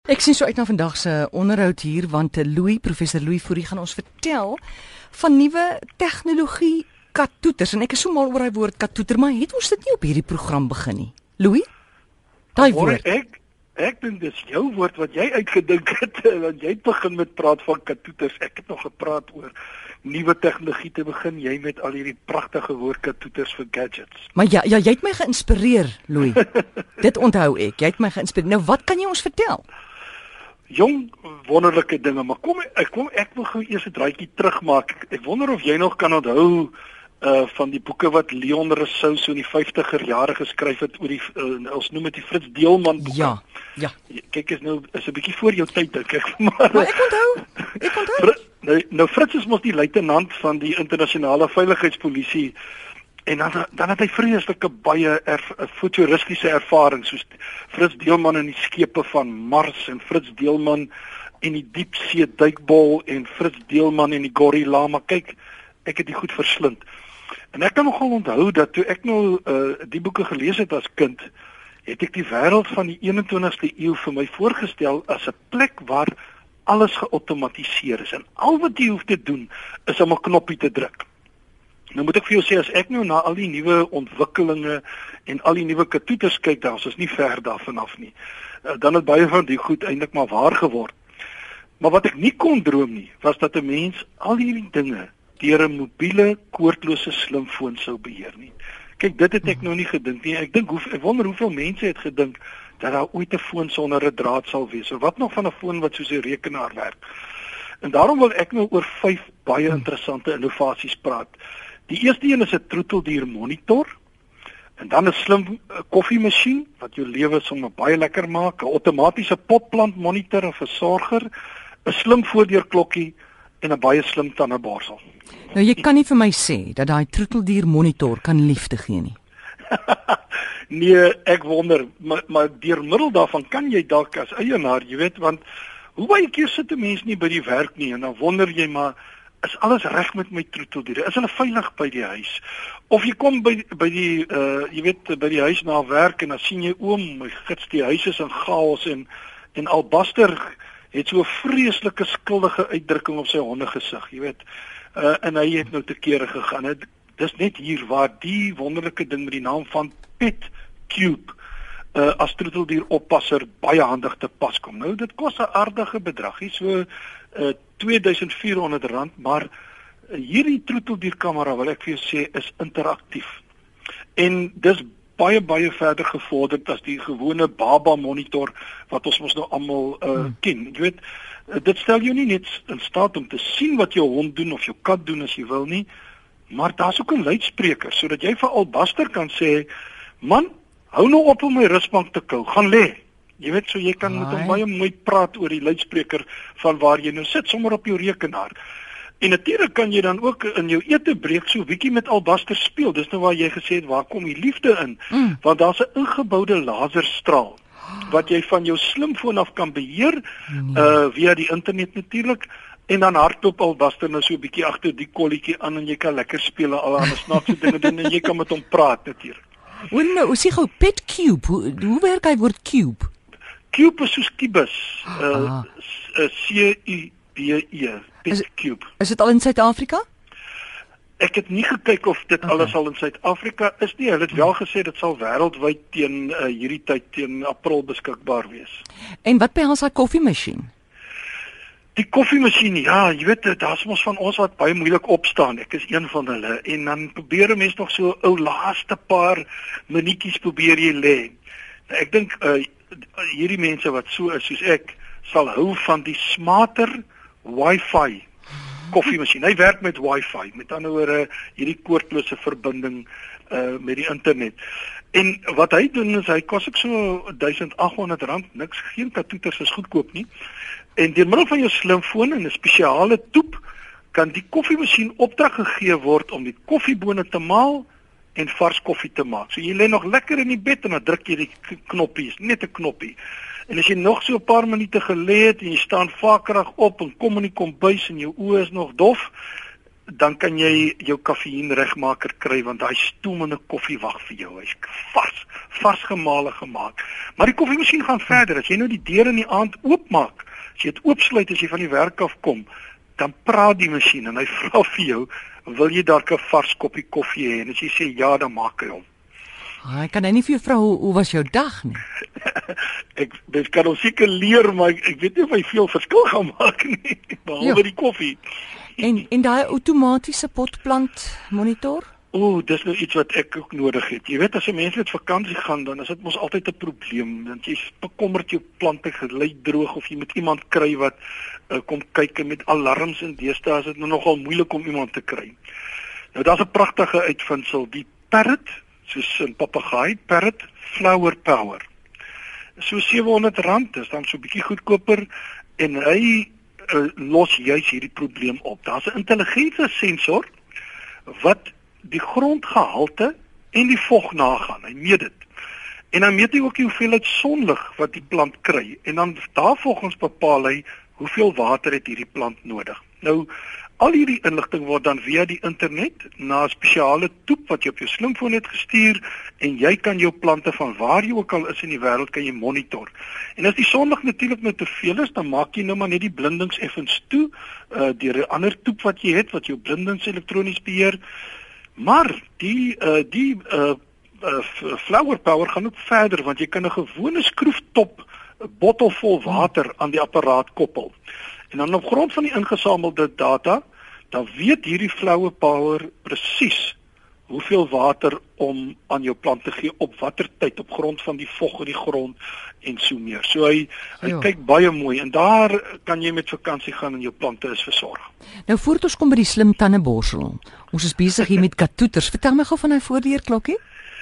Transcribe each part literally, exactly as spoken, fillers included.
Ek sien so uit na vandag se onderhoud hier want Louis, professor Louis Fourie gaan ons vertel van nuwe tegnologie kattoeters en ek is so mal oor hy woord kattoeter, maar het ons dit nie op hierdie program begin nie. Louis? Daai woord. Ek ek dink dis jou woord wat jy uitgedink het want jy het begin met praat van kattoeters. Ek het nog gepraat oor nuwe tegnologie te begin, jy met al hierdie pragtige woord kattoeters vir gadgets. Maar ja, ja jy het my geïnspireer, Louis. Dit onthou ek. Jy het my geïnspireer. Nou wat kan jy ons vertel? Jong wonderlike dinge, maar kom ek kom ek wil gou eers 'n draaitjie terugmaak. Ek, ek wonder of jy nog kan onthou uh van die boeke wat Leon Rousseau so in die vyftiger jare geskryf het oor die uh, ons noem dit die Fritz Deelman boeke. Ja, ja. Kyk is nou is 'n bietjie voor jou tyd dink ek, maar, maar ek onthou. Ek onthou. Fr nou, nou Fritz is mos die luitenant van die internasionale veiligheidspolisie. En dan dan het hy vreeslike baie erf, futuristiese ervaring soos Fritz Deelman in die skepe van Mars en Fritz Deelman in die diepsee duikbol en Fritz Deelman in die gorilla, maar kyk, ek het dit goed verslind. En ek kan nogal onthou dat toe ek nou uh, die boeke gelees het as kind, het ek die wêreld van die eenentwintigste eeu vir my voorgestel as 'n plek waar alles geautomatiseer is en al wat jy hoef te doen is om 'n knoppie te druk. Nou moet ek vir jou sê, as ek nou na al die nuwe ontwikkelinge en al die nuwe kattoeters kyk, dan is ons nie ver daarvan af nie. Dan het baie van die goed eintlik maar waar geword. Maar wat ek nie kon droom nie, was dat 'n mens al hierdie dinge deur 'n mobiele, koordlose slimfoon sou beheer nie. Kyk, dit het ek nou nie gedink nie. Ek dink hoe ek wonder hoeveel mense het gedink dat daar ooit 'n foon sonder 'n draad sal wees. Of wat nog van 'n foon wat soos 'n rekenaar werk. En daarom wil ek nou oor vyf baie interessante innovasies praat. Die eerste een is 'n troeteldier monitor en dan 'n slim koffiemasjien wat jou lewe sommer baie lekker maak, 'n outomatiese potplant monitor en versorger, 'n slim voordeurklokkie en 'n baie slim tandeborsel. Nou jy kan nie vir my sê dat daai troeteldier monitor kan liefde gee nie. Nee, ek wonder, maar, maar deur middel daarvan kan jy dalk as eienaar, jy weet, want hoe baie keer sit 'n mens nie by die werk nie en dan wonder jy maar is alles reg met my troeteldiere? Is hulle veilig by die huis? Of jy kom by by die uh jy weet by die huis na werk en dan sien jy oom, my gits, die huis is in chaos en en Albaster het so 'n vreeslike skuldige uitdrukking op sy hondegesig, jy weet. Uh en hy het nou te kere gegaan. Het, dis net hier waar die wonderlike ding met die naam van PetCube uh as troeteldier oppasser baie handig te pas kom. Nou dit kos 'n aardige bedrag, hier so uh twee duisend vier honderd rand, maar uh, hierdie troeteldierkamera wil ek vir jou sê is interaktief. En dis baie baie verder gevorderd as die gewone baba monitor wat ons mos nou almal uh, hmm. ken. Jy weet, uh, dit stel jou nie net in staat om te sien wat jou hond doen of jou kat doen as jy wil nie, maar daar's ook 'n luidspreker sodat jy vir Albaster kan sê, man, hou nou op om my rusbank te kou, gaan lê. Jy weet, so jy kan Hai. met hom baie mooi praat oor die luidspreker van waar jy nou sit, sommer op jou rekenaar. En natuurlik kan jy dan ook in jou etebreek so 'n bietjie met Albaster speel. Dis nou waar jy gesê het, waar kom die liefde in? Mm. Want daar's 'n ingeboude laserstraal wat jy van jou slimfoon af kan beheer, mm. uh via die internet natuurlik. En dan hardloop Albaster nou so 'n bietjie agter die kolletjie aan en jy kan lekker speel en al ander snaakse dinge doen en jy kan met hom praat natuurlik. O nee, ons sê gou PetCube. Hoe, hoe werk hy woord cube? Cube is soos kubus. Uh, C U B E. PetCube. Is, is dit al in Suid-Afrika? Ek het nie gekyk of dit okay. alles al in Suid-Afrika is nie. Hulle het wel gesê dit sal wêreldwyd teen uh, hierdie tyd teen April beskikbaar wees. En wat behels hy koffiemasjien? Die koffiemasjien, ja, jy weet, daar's mos van ons wat baie moeilik opstaan. Ek is een van hulle. En dan probeer 'n mens nog so 'n ou laaste paar minuutjies probeer jy lê. Nou, ek dink uh, hierdie mense wat so is soos ek, sal hou van die smarter Wi-Fi koffiemasjien. Hy werk met Wi-Fi, met ander woorde hierdie koordlose verbinding uh, met die internet. En wat hy doen is hy kos ek so duisend agt honderd rand, niks, geen kattoeters is goedkoop nie. En deur middel van jou slimfoon en 'n spesiale toep kan die koffiemasjien opdrag gegee word om die koffiebone te maal en vars koffie te maak. So jy lê nog lekker in die bed en dan druk jy die knoppie, net 'n knoppie. En as jy nog so 'n paar minute gelê het en jy staan vakerig op en kom in die kombuis en jou oë is nog dof, dan kan jy jou kafeïen regmaker kry want daai stoomende koffie wag vir jou. Hy's vars, vars gemale gemaak. Maar die koffiemasjien gaan verder. As jy nou die deur in die aand oopmaak, as jy dit oopsluit as jy van die werk af kom, dan praat die masjien en hy vra vir jou, wil jy dalk 'n vars koppie koffie hê? En as jy sê ja, dan maak hy hom. Hy kan nou nie vir jou vra hoe, hoe was jou dag nie. ek dit kan ons seker leer, maar ek, ek weet nie of hy veel verskil gaan maak nie, behalwe die koffie. En en daai outomatiese potplant monitor? O, oh, dis nou iets wat ek ook nodig het. Jy weet, as 'n mens met vakansie gaan, dan is dit mos altyd 'n probleem, want jy bekommerd jou plante gelei droog of jy moet iemand kry wat uh, kom kyk en met alarms en deesdae is dit nou nogal moeilik om iemand te kry. Nou daar's 'n pragtige uitvinding, die Parrot, soos 'n papegaai, Parrot Flower Power. So sewe honderd rand, dis dan so 'n bietjie goedkoper en hy uh, los juis hierdie probleem op. Daar's 'n intelligente sensor wat die grondgehalte en die vog nagaan. Hy meet dit. En dan meet hy ook die hoeveelheid sonlig wat die plant kry en dan daarvolgens bepaal hy hoeveel water het hierdie plant nodig. Nou al hierdie inligting word dan via die internet na 'n spesiale toep wat jy op jou slimfoon het gestuur en jy kan jou plante van waar jy ook al is in die wêreld kan jy monitor. En as die sonlig natuurlik nou te veel is, dan maak jy nou maar net die blindings effens toe uh, deur 'n ander toep wat jy het wat jou blindings elektronies beheer. Maar die uh, die uh, uh, flower power gaan ook verder want jy kan 'n gewone skroeftop 'n bottel vol water aan die apparaat koppel. En dan op grond van die ingesamelde data, dan weet hierdie flower power presies hoeveel water om aan jou plant te gee op watter tyd op grond van die vog in die grond en so meer. So hy hy Ja. kyk baie mooi en daar kan jy met vakansie gaan en jou plante is versorg. Nou voordat ons kom by die slim tandeborsel. Ons is besig hier met katoeters. Vertel my gou van hy voordeurklokkie.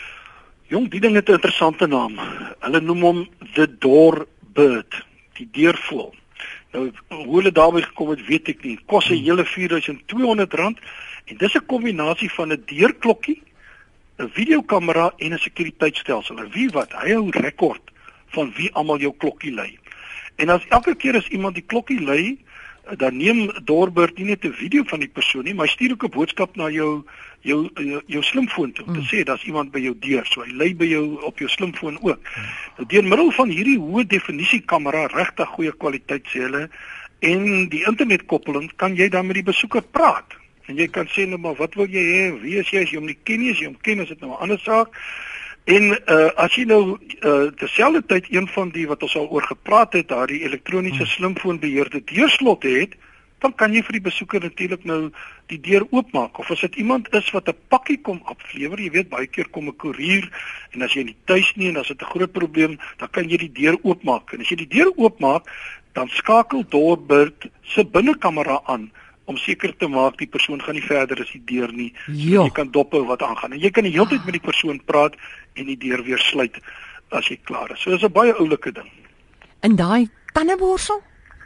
Jong, die ding het 'n interessante naam. Hulle noem hom the doorbird, die deurvoël. Nou hoe hulle daarby gekom het, weet ek nie. Kos 'n hele vier duisend twee honderd rand en dis 'n kombinasie van 'n deurklokkie, 'n videokamera en 'n sekuriteitstelsel. En wie wat, hy hou rekord van wie almal jou klokkie lei. En as elke keer as iemand die klokkie lei, dan neem Doorbird nie net 'n video van die persoon nie, maar hy stuur ook 'n boodskap na jou jou jou, jou slimfoon toe om te sê daar's iemand by jou deur. So hy lei by jou op jou slimfoon ook. Nou deur middel van hierdie hoë definisie kamera, regtig goeie kwaliteit sê hulle, en die internetkoppeling kan jy dan met die besoeker praat. En jy kan sê nou maar wat wil jy hê? Wie is jy? As jy hom nie ken nie, as jy hom ken, is dit nou 'n ander saak. En uh, as jy nou uh, terselfdertyd een van die wat ons al oor gepraat het, daardie elektroniese slimfoonbeheerde deurslot het, dan kan jy vir die besoeker natuurlik nou die deur oopmaak. Of as dit iemand is wat 'n pakkie kom aflewer, jy weet baie keer kom 'n koerier en as jy nie tuis nie en as dit 'n groot probleem, dan kan jy die deur oopmaak. En as jy die deur oopmaak, dan skakel Doorbird se binnekamera aan om seker te maak die persoon gaan nie verder as die deur nie. So Ja. jy kan dophou wat aangaan. En jy kan die hele tyd met die persoon praat en die deur weer sluit as jy klaar is. So dis 'n baie oulike ding. In daai tandeborsel?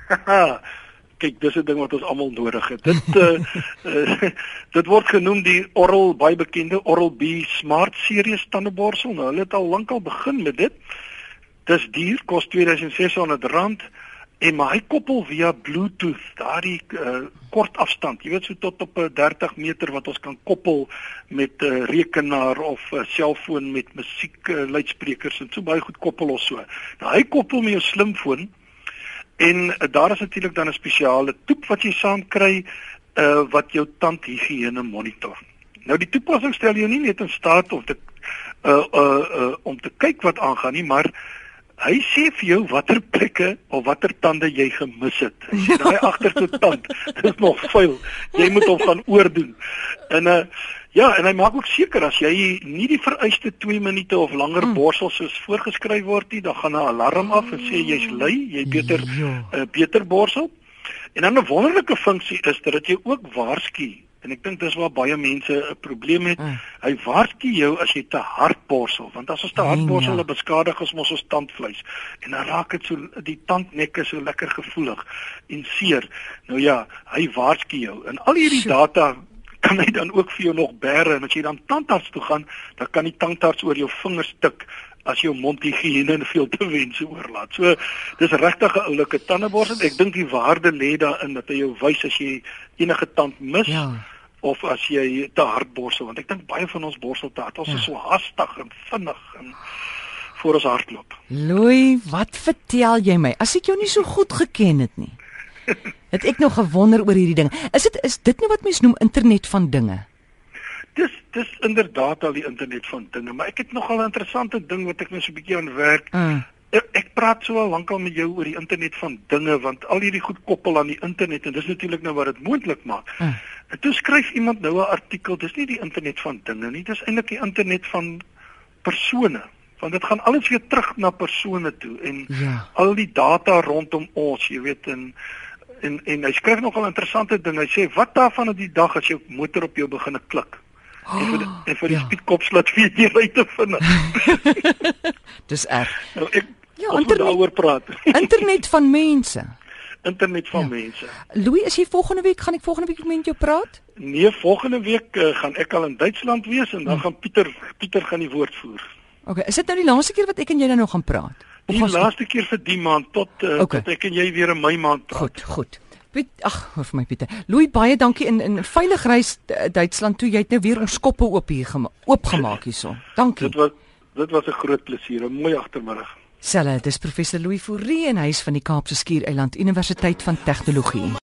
Kyk, dis 'n ding wat ons almal nodig het. Dit uh, uh, dit word genoem die Oral, baie bekende Oral-B Smart Series tandeborsel. Nou, hulle het al lankal begin met dit. Dis duur, kos twee duisend ses honderd rand. En maar hy koppel via Bluetooth, daardie uh, kort afstand. Jy weet so tot op uh, dertig meter wat ons kan koppel met 'n uh, rekenaar of 'n uh, selfoon met musiek uh, luidsprekers en so baie goed koppel ons so. Nou hy koppel met jou slimfoon en uh, daar is natuurlik dan 'n spesiale toep wat jy saam kry uh, wat jou tandhigiëne monitor. Nou die toepassing stel jou nie net in staat om te uh, uh, uh, om te kyk wat aangaan nie, maar hy sê vir jou watter plekke of watter tande jy gemis het. As jy daai agterste tand, dis nog vuil. Jy moet hom gaan oordoen. En uh ja, en hy maak ook seker as jy nie die vereiste twee minute of langer mm. borsel soos voorgeskryf word nie, dan gaan 'n alarm af en sê jy's lui, jy beter Ja. uh, beter borsel. En dan 'n wonderlike funksie is dat jy ook waarsku. En ek dink dis waar baie mense 'n probleem het. Mm. Hy waarsku jou as jy te hard borsel, want as ons te hard Mm, borsel, ja. dan beskadig ons mos ons tandvleis. En dan raak dit so die tandnekke so lekker gevoelig en seer. Nou ja, hy waarsku jou. En al hierdie Sjoe. data kan hy dan ook vir jou nog bære en as jy dan tandarts toe gaan, dan kan die tandarts oor jou vingers tik as jou mondhigiëne veel te wense oorlaat. So dis regtig 'n oulike tandeborsel. Ek dink die waarde lê daarin dat hy jou wys as jy enige tand mis. Ja. of as jy te hard borsel, want ek dink baie van ons borsel te hard. Ons ja. is so haastig en vinnig en voor ons hardloop. Louis, wat vertel jy my? As ek jou nie so goed geken het nie. Het ek nog gewonder oor hierdie ding. Is dit is dit nou wat mens noem internet van dinge? Dis dis inderdaad al die internet van dinge, maar ek het nogal 'n interessante ding wat ek nou so 'n bietjie aan werk. Uh. Ek, ek praat so al lankal met jou oor die internet van dinge, want al hierdie goed koppel aan die internet en dis natuurlik nou wat dit moontlik maak. Uh. En toe skryf iemand nou 'n artikel, dis nie die internet van dinge nie, dis eintlik die internet van persone. Want dit gaan alles weer terug na persone toe en ja. al die data rondom ons, jy weet, en en en hy skryf nogal 'n interessante ding. Hy sê wat daarvan op die dag as jou motor op jou begin klik. Oh, en vir die, en vir die ja. speedkops laat weet jy ry te vind. Dis erg. Nou ek ja, internet, daaroor praat. Internet van mense. Internet van ja. mense. Louis, is jy volgende week gaan ek volgende week met jou praat? Nee, volgende week uh, gaan ek al in Duitsland wees en dan hmm. gaan Pieter Pieter gaan die woord voer. Okay, is dit nou die laaste keer wat ek en jy dan nog gaan praat? Die laaste keer vir die maand tot uh, okay. tot ek en jy weer in my maand praat. Goed, goed. Piet, ag, hoor vir my Pieter. Louis, baie dankie in in veilig reis Duitsland toe. Jy het nou weer ons koppe oop hier oopgemaak hierso. Dankie. Dit was dit was 'n groot plesier. 'n Mooi agtermiddag. Selle, dis professor Louis Fourie en hy is van die Kaapse Skiereiland Universiteit van Tegnologie.